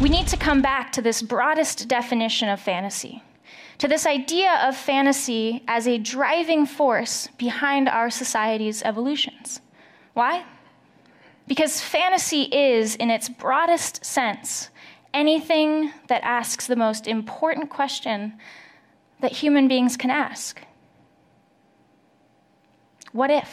We need to come back to this broadest definition of fantasy, to this idea of fantasy as a driving force behind our society's evolutions. Why? Because fantasy is, in its broadest sense, anything that asks the most important question that human beings can ask. What if?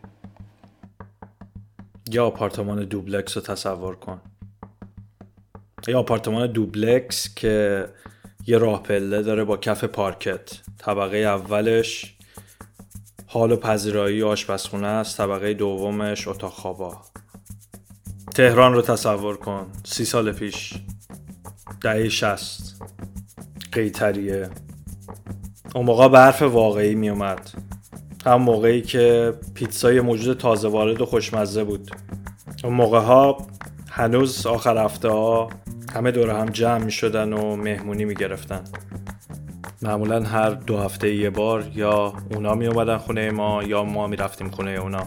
یا آپارتمان دوبلکس رو تصور کن. یه آپارتمان دوبلکس که یه راه پله داره با کف پارکت. طبقه اولش حال و پذیرایی آشپزخونه است، طبقه دومش اتاق خوابا. تهران رو تصور کن. 30 سال پیش، دهه 60، قیطریه. اون موقع برف واقعی می اومد، هم موقعی که پیتزای موجود تازه وارد و خوشمزه بود. اون موقع ها هنوز آخر هفته ها همه دور هم جمع می شدن و مهمونی می گرفتن. معمولا هر 2 هفته یه بار یا اونا می اومدن خونه ما یا ما می رفتیم خونه اونا.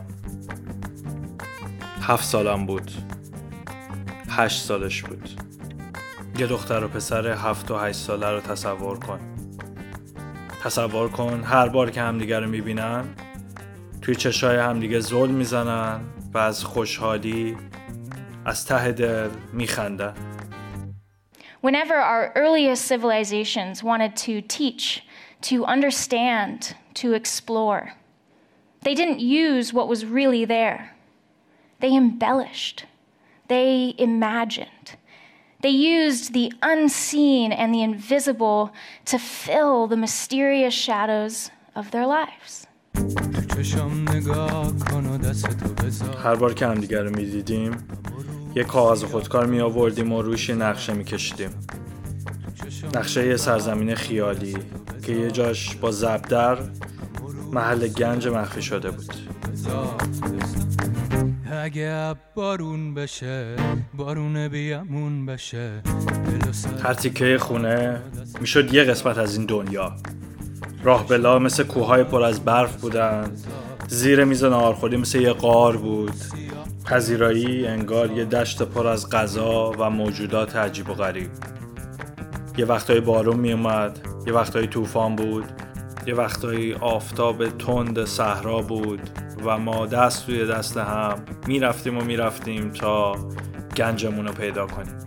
7 سالم بود، 8 سالش بود. یه دختر و پسر 7 و 8 ساله رو تصور کن. تصور کن هر بار که همدیگه رو میبینن توی چشای همدیگه زل میزنن و از خوشحالی از ته دل میخندن. Whenever our earliest civilizations wanted to teach, to understand, to explore, they didn't use what was really there. They embellished. They imagined. They used the unseen and the invisible to fill the mysterious shadows of their lives. هر بار که همدیگر رو میدیدیم یه کاغذ خودکار می آوردیم و روش نقشه می کشیدیم. نقشه یه سرزمین خیالی که یه جاش با زبدر محل گنج مخفی شده بود. اگه بارون بشه، بارون بیامون بشه. هر تیکه خونه میشد یه قسمت از این دنیا. راه بلا مثل کوههای پر از برف بودن. زیر میز ناهارخوری مثل یه غار بود. پذیرایی انگار یه دشت پر از غذا و موجودات عجیب و غریب. یه وقتایی بارون می اومد، یه وقتایی طوفان بود، یه وقتایی آفتاب تند صحرا بود و ما دست توی دست هم میرفتیم تا گنجمون رو پیدا کنیم.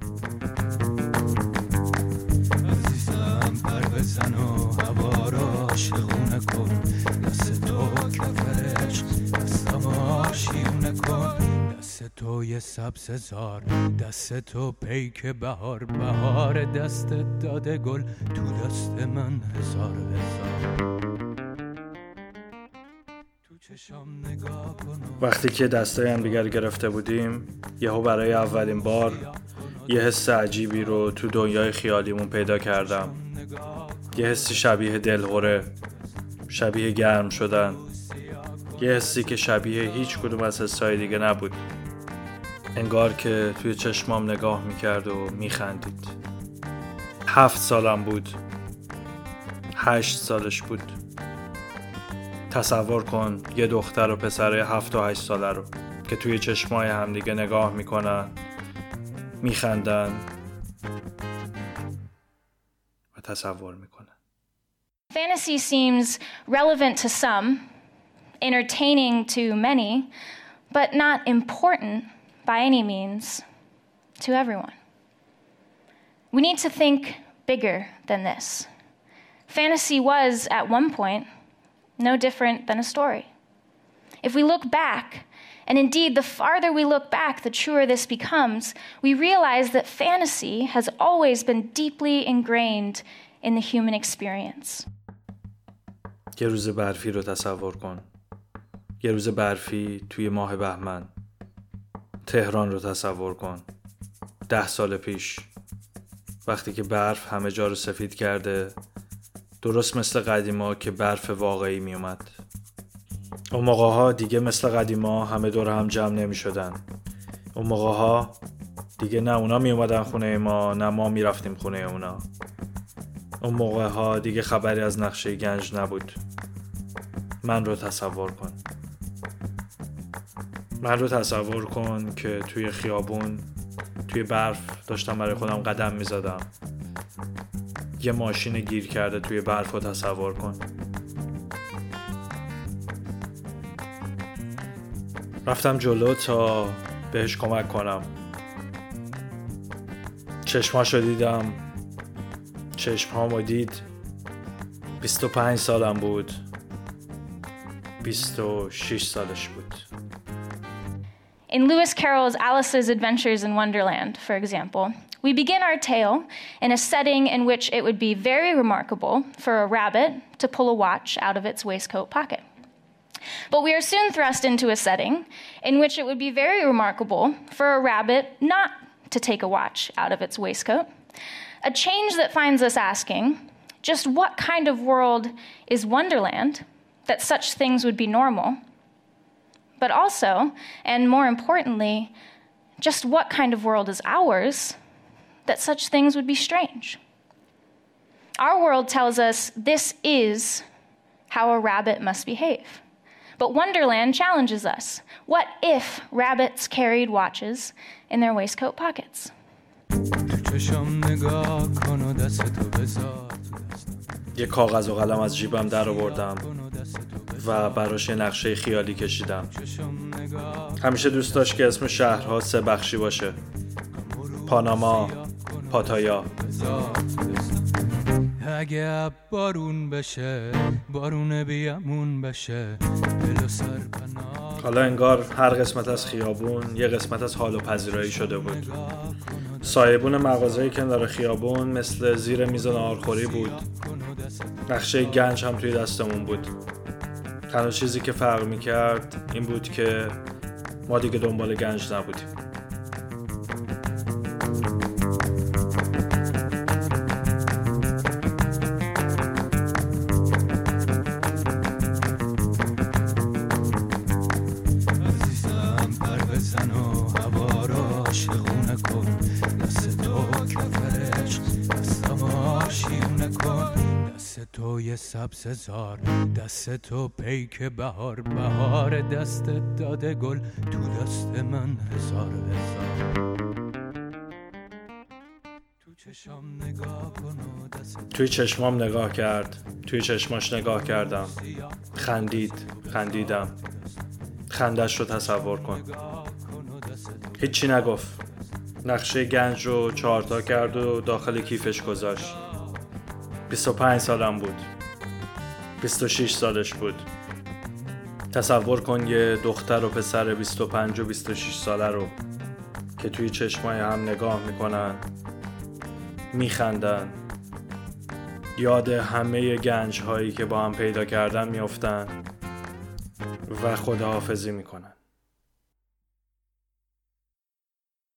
عزیزم پر بزن و هوا را شخونه کن، دست تو کفرش دستم آشیونه کن، دست تو یه سبززار، دست تو پیک بهار، بهار دست داده گل تو دست من هزار هزار. وقتی که دستای هم دیگر گرفته بودیم یهو برای اولین بار یه حس عجیبی رو تو دنیای خیالیمون پیدا کردم. یه حسی شبیه دلهره، شبیه گرم شدن، یه حسی که شبیه هیچ کدوم از حسای دیگه نبود. انگار که توی چشمام نگاه میکرد و میخندید. 7 سالم بود، 8 سالش بود. تصور کن یه دختر و پسر 7 و 8 ساله رو که توی چشمای همدیگه نگاه میکنن، میخندن و تصور میکنن. Fantasy seems relevant to some, entertaining to many, but not important by any means to everyone. We need to think bigger than this. Fantasy was, at one point, no different than a story. If we look back, and indeed the farther we look back, the truer this becomes, we realize that fantasy has always been deeply ingrained in the human experience. یه روز برفی رو تصور کن. یه روز برفی توی ماه بهمن. تهران رو تصور کن. 10 سال پیش، وقتی که برف همه جا رو سفید کرده، درست مثل قدیما که برف واقعی می اومد. اون موقع ها دیگه مثل قدیما همه دور هم جمع نمی شدن. اون موقع ها دیگه نه اونا می اومدن خونه ما نه ما می رفتیم خونه اونا. اون موقع ها دیگه خبری از نقشه گنج نبود. من رو تصور کن. من رو تصور کن که توی خیابون توی برف داشتم برای خودم قدم میزدم. یه ماشین گیر کرده توی برف رو تصور کن. رفتم جلو تا بهش کمک کنم. چشماشو دیدم، چشمهامو دید. 25 سالم بود، 26 سالش بود. In Lewis Carroll's Alice's Adventures in Wonderland, for example, we begin our tale in a setting in which it would be very remarkable for a rabbit to pull a watch out of its waistcoat pocket. But we are soon thrust into a setting in which it would be very remarkable for a rabbit not to take a watch out of its waistcoat, a change that finds us asking, just what kind of world is Wonderland that such things would be normal? But also, and more importantly, just what kind of world is ours that such things would be strange? Our world tells us this is how a rabbit must behave. But Wonderland challenges us. What if rabbits carried watches in their waistcoat pockets? یه کاغذ و قلم از جیبم در آوردم و براش یه نقشه خیالی کشیدم. همیشه دوست داشت که اسم شهرها 3 بخشی باشه: پاناما، پاتایا. اگه بارون بشه، بارون بیامون بشه، دل و سر پناه. حالا انگار هر قسمت از خیابون یه قسمت از حال و پذیرایی شده بود. سایبون مغازه‌ی کنار خیابون مثل زیر میز ناهارخوری بود. نقشه گنج هم توی دستمون بود. تنها چیزی که فرق می‌کرد این بود که ما دیگه دنبال گنج نبودیم. عزیزم پر بزن و هوا را شغونه کن، دست تو کفرش دستم آشیونه کن، دست تو یه سبززار، دست تو پیک بهار، بهار دست داده گل، تو دست من هزار هزار. توی چشمام نگاه کرد، توی چشماش نگاه کردم. خندیدم. خندش رو تصور کن. هیچی نگفت. نقشه گنج رو 4 تا کرد و داخل کیفش گذاشت. 25 سالم بود. 26 سالش بود. تصور کن یه دختر و پسر 25 و 26 ساله رو که توی چشمای هم نگاه میکنن، میخندن، یاد همه گنج هایی که با هم پیدا کردن میافتن و خداحافظی میکنن.